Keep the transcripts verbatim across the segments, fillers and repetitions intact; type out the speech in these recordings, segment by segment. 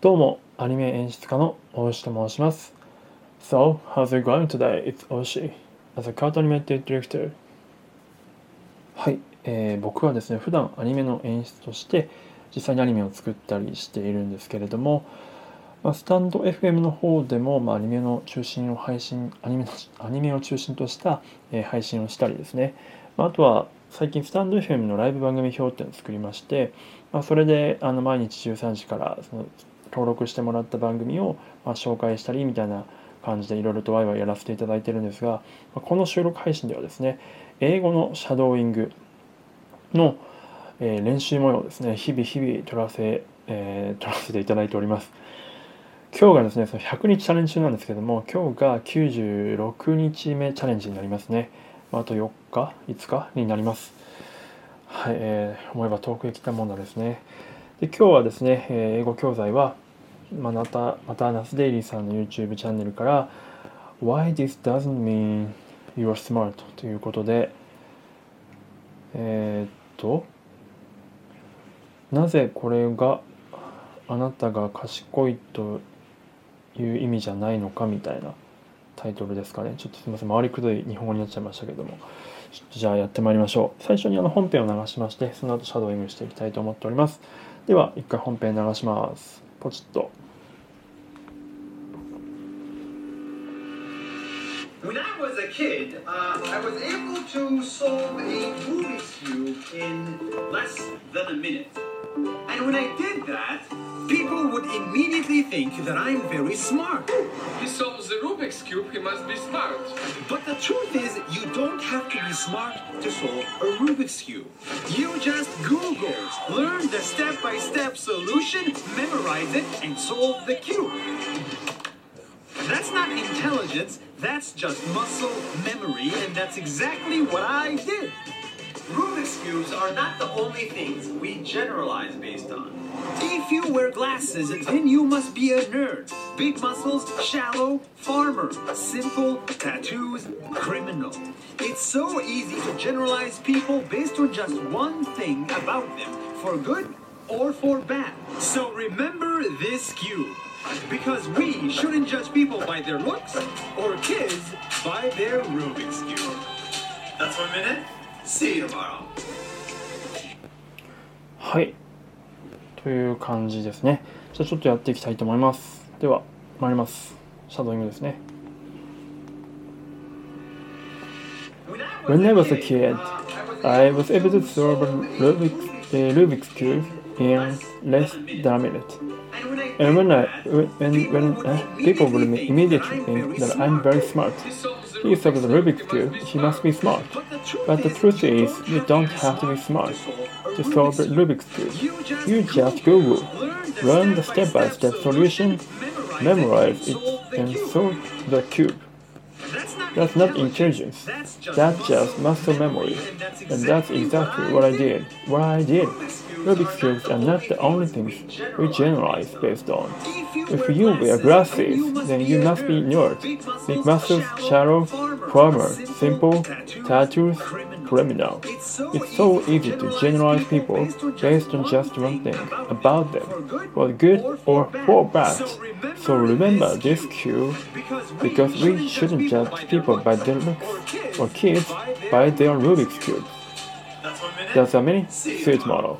どうも、アニメ演出家の大石と申します。So, how's it going today? It's Oshi, as a cartoon animated director. はい、えー、僕はですね、普段アニメの演出として実際にアニメを作ったりしているんですけれども、まあ、スタンド エフエム の方でも、まあ、アニメの中心を配信アニメのアニメを中心とした、えー、配信をしたりですね、まあ、あとは最近スタンド エフエム のライブ番組表っていうのを作りまして、まあ、それであの毎日じゅうさんじからその登録してもらった番組を、まあ、紹介したりみたいな感じでいろいろとワイワイやらせていただいてるんですが、まあ、この収録配信ではですね、英語のシャドーイングの、えー練習模様をですね、日々日々撮らせ、えー撮らせていただいております。今日がですね、そのひゃくにちチャレンジ中なんですけども、今日がきゅうじゅうろくにちめチャレンジになりますね。まああとよっか、いつかになります。はい、えー思えば遠くへ来たもんだですね。で、今日はですね、えー英語教材は、まあまた、またナスデイリーさんの YouTube チャンネルから Why this doesn't mean you're smart ということで、えーっと、なぜこれがあなたが賢いという意味じゃないのかみたいなタイトルですかね。ちょっとすみません、回りくどい日本語になっちゃいましたけども、ちょっとじゃあやってまいりましょう。最初にあの本編を流しまして、その後シャドーイングしていきたいと思っております。では、一回本編流します。ポチッと。 When I was a kid, uh, I was able to solve a Rubik's Cube in less than a minute. And when I did that, people would immediately think that I'm very smart. He solves the Rubik's Cube, he must be smart. But the truth is, you don't have to be smart to solve a Rubik's Cube. You just Google, learn the step-by-step solution, memorize it, and solve the cube. That's not intelligence, that's just muscle memory, and that's exactly what I did. Rubik's Cubes are not the only things we generalize based on. If you wear glasses, then you must be a nerd. Big muscles, shallow, farmer. Simple, tattoos, criminal. It's so easy to generalize people based on just one thing about them, for good or for bad. So remember this cube. Because we shouldn't judge people by their looks or kids by their Rubik's Cube. That's one minute. See you tomorrow. はい。という感じですね。じゃあちょっとやっていきたいと思います。では、参ります。シャドーイングですね。When I was a kid, I was able to solve a Rubik's, uh, Rubik's Cube in less than a minute. And when I, when, when uh, people will immediately think that I'm very smart. He solved the Rubik's Cube, he must be smart. But the truth is, you don't have to be smart to solve the Rubik's Cube. You just Google, learn the step-by-step solution, memorize it, and solve the cube. That's not intelligence, that's just muscle memory. And that's exactly what I did. What I did. Rubik's Cubes are not the only things we generalize based on. If you wear glasses, then you must be nerd. Big muscles, shallow, farmer, simple, tattoos, criminal. It's so easy to generalize people based on just one thing about them, for good or for bad. So remember this cue, because we shouldn't judge people by their looks or kids by their Rubik's Cube. That's a mini suit model.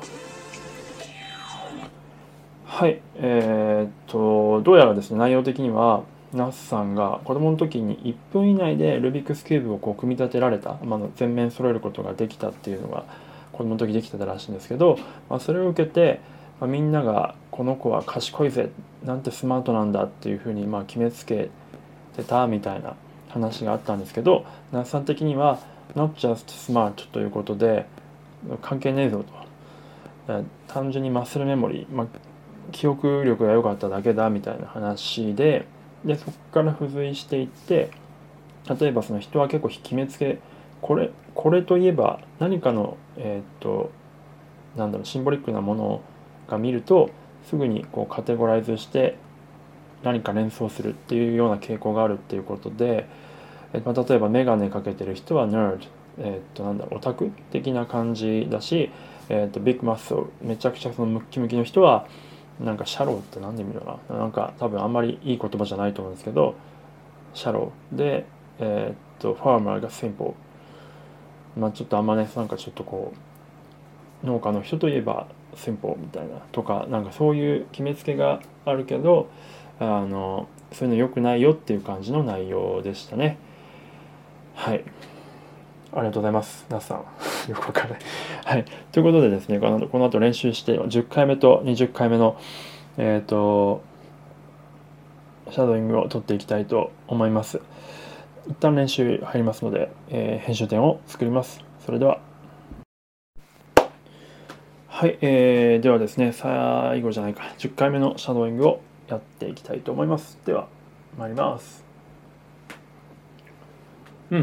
はい、えー、っとどうやらですね、内容的にはナスさんが子供の時にいっぷん以内でルービックスキューブをこう組み立てられた、まあ、全面揃えることができたっていうのが子供の時できてたらしいんですけど、まあ、それを受けて、まあ、みんながこの子は賢いぜ、なんてスマートなんだっていうふうにまあ決めつけてたみたいな話があったんですけど、ナスさん的には not just smart ということで関係ねえぞと、単純にマッスルメモリー、まあ記憶力が良かっただけだみたいな話で、でそこから付随していって、例えばその人は結構決めつけ、これこれといえば何かのえー、っとなんだろうシンボリックなものが見るとすぐにこうカテゴライズして何か連想するっていうような傾向があるっていうことで、えー、まあ、例えばメガネかけてる人は nerd、えー、っとなんだろうオタク的な感じだし、えー、っとビッグマッスルめちゃくちゃそのムッキムキの人はなんかシャローって何で見るかな、なんか多分あんまりいい言葉じゃないと思うんですけど、シャローで、えー、っとファーマーがシンプル、まあちょっとあんまね、なんかちょっとこう農家の人といえばシンプルみたいなとか、なんかそういう決めつけがあるけど、あのそういうの良くないよっていう感じの内容でしたね。はい、ありがとうございます。ナスさん。よくわからない。はい。ということでですね、このこの後練習して、じゅっかいめとにじゅっかいめの、えっ、と、シャドーイングを取っていきたいと思います。一旦練習入りますので、えー編集点を作ります。それでは。はい、えー、ではですね、最後じゃないか、じゅっかいめのシャドーイングをやっていきたいと思います。では、参ります。うん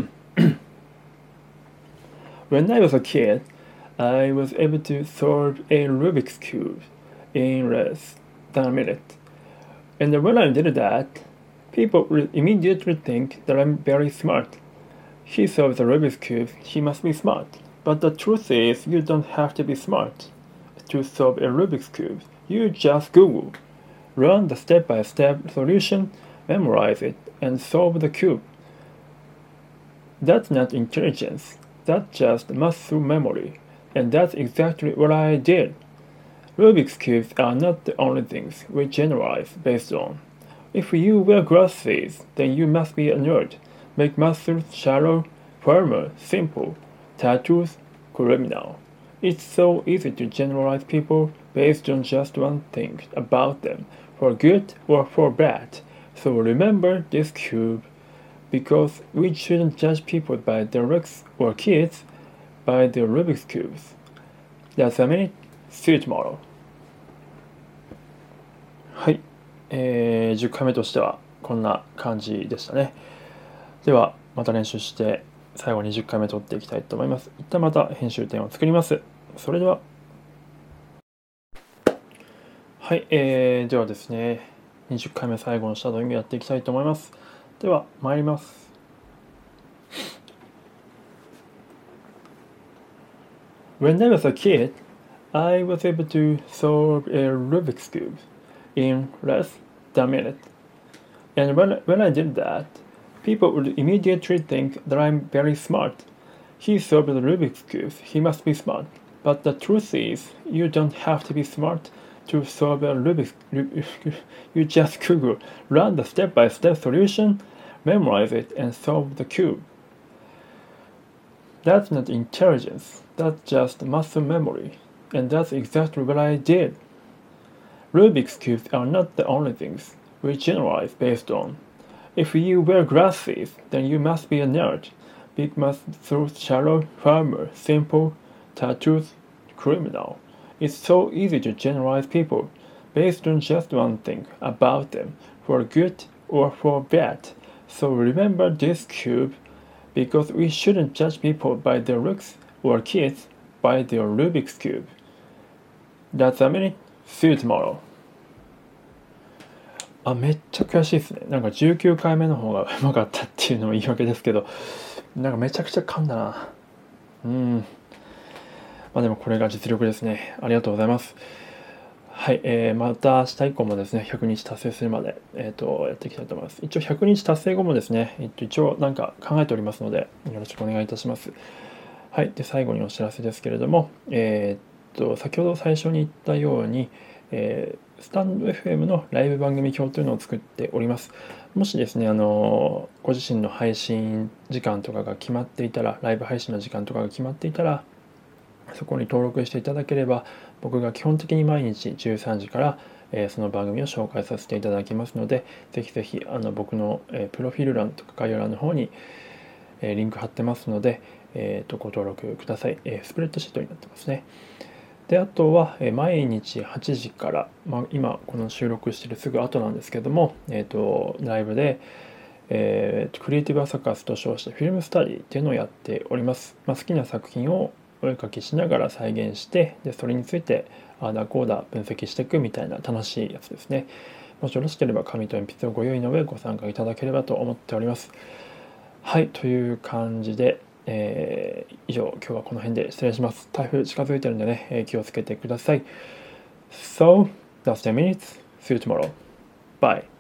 。When I was a kid, I was able to solve a Rubik's Cube in less than a minute. And when I did that, people would immediately think that I'm very smart. He solved the Rubik's Cube, he must be smart. But the truth is, you don't have to be smart to solve a Rubik's Cube. You just Google, learn the step by step solution, memorize it, and solve the cube. That's not intelligence, that's just muscle memory. And that's exactly what I did. Rubik's Cubes are not the only things we generalize based on. If you wear glasses, then you must be a nerd. Make muscles shallow, firmer, simple. Tattoos, criminal. It's so easy to generalize people based on just one thing about them, for good or for bad. So remember this cube, because we shouldn't judge people by their looks or kids by their Rubik's Cubes. That's a minute. See you tomorrow. はい、えー、じゅっかいめとしてはこんな感じでしたね。ではまた練習して最後にじゅっかいめ取っていきたいと思います。一旦また編集点を作ります。それでは。はい、えー、ではですね、にじゅっかいめ最後のシャドーイングやっていきたいと思います。では参ります。When I was a kid, I was able to solve a Rubik's Cube in less than a minute. And when, when I did that, people would immediately think that I'm very smart. He solved the Rubik's Cube, he must be smart. But the truth is, you don't have to be smart to solve a Rubik's Cube. You just Google, run the step-by-step solution, memorize it, and solve the cube. That's not intelligence, that's just muscle memory. And that's exactly what I did. Rubik's Cubes are not the only things we generalize based on. If you wear glasses, then you must be a nerd. Big muscles, shallow, firmer, simple, tattoos, criminal. It's so easy to generalize people based on just one thing about them, for good or for bad. So remember this cube, because we shouldn't judge people by their looks or kids by their Rubik's Cube. That's a minute. See you tomorrow. あ、めっちゃ悔しいですね。なんかじゅうきゅうかいめの方がうまかったっていうのも言い訳ですけど、なんかめちゃくちゃ噛んだな。うん。まあでもこれが実力ですね。ありがとうございます。はい、えー、また明日以降もですね、ひゃくにち達成するまで、えー、とやっていきたいと思います。一応ひゃくにち達成後もですね、えっと、一応なんか考えておりますので、よろしくお願いいたします。はい、で最後にお知らせですけれども、えー、っと先ほど最初に言ったように、えー、スタンド エフエム のライブ番組表というのを作っております。もしですね、あのご自身の配信時間とかが決まっていたら、ライブ配信の時間とかが決まっていたら、そこに登録していただければ、僕が基本的に毎日じゅうさんじから、えー、その番組を紹介させていただきますので、ぜひぜひあの僕の、えー、プロフィール欄とか概要欄の方に、えー、リンク貼ってますので、えー、とご登録ください、えー。スプレッドシートになってますね。で、あとは、えー、毎日はちじから、まあ、今この収録してるすぐ後なんですけども、えー、とライブで、えー、クリエイティブアサカスと称してフィルムスタディっていうのをやっております。まあ、好きな作品をお絵かきしながら再現して、でそれについてあーだこうだ分析していくみたいな楽しいやつですね。もしよろしければ紙と鉛筆をご用意の上ご参加いただければと思っております。はい、という感じで、えー、以上今日はこの辺で失礼します。台風近づいてるんでね、えー、気をつけてください。So, That's ten minutes. See you tomorrow. Bye.